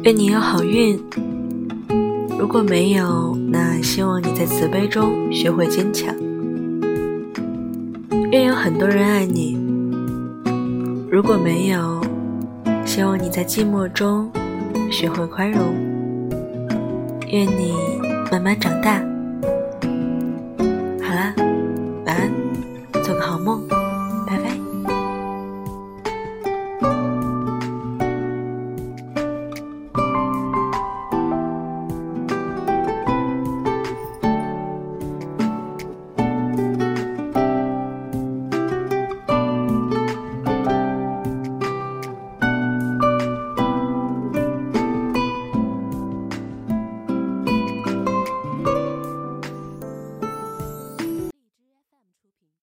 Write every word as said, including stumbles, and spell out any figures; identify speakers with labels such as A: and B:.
A: 愿你有好运，如果没有，那希望你在慈悲中学会坚强。愿有很多人爱你，如果没有，希望你在寂寞中学会宽容。愿你慢慢长大。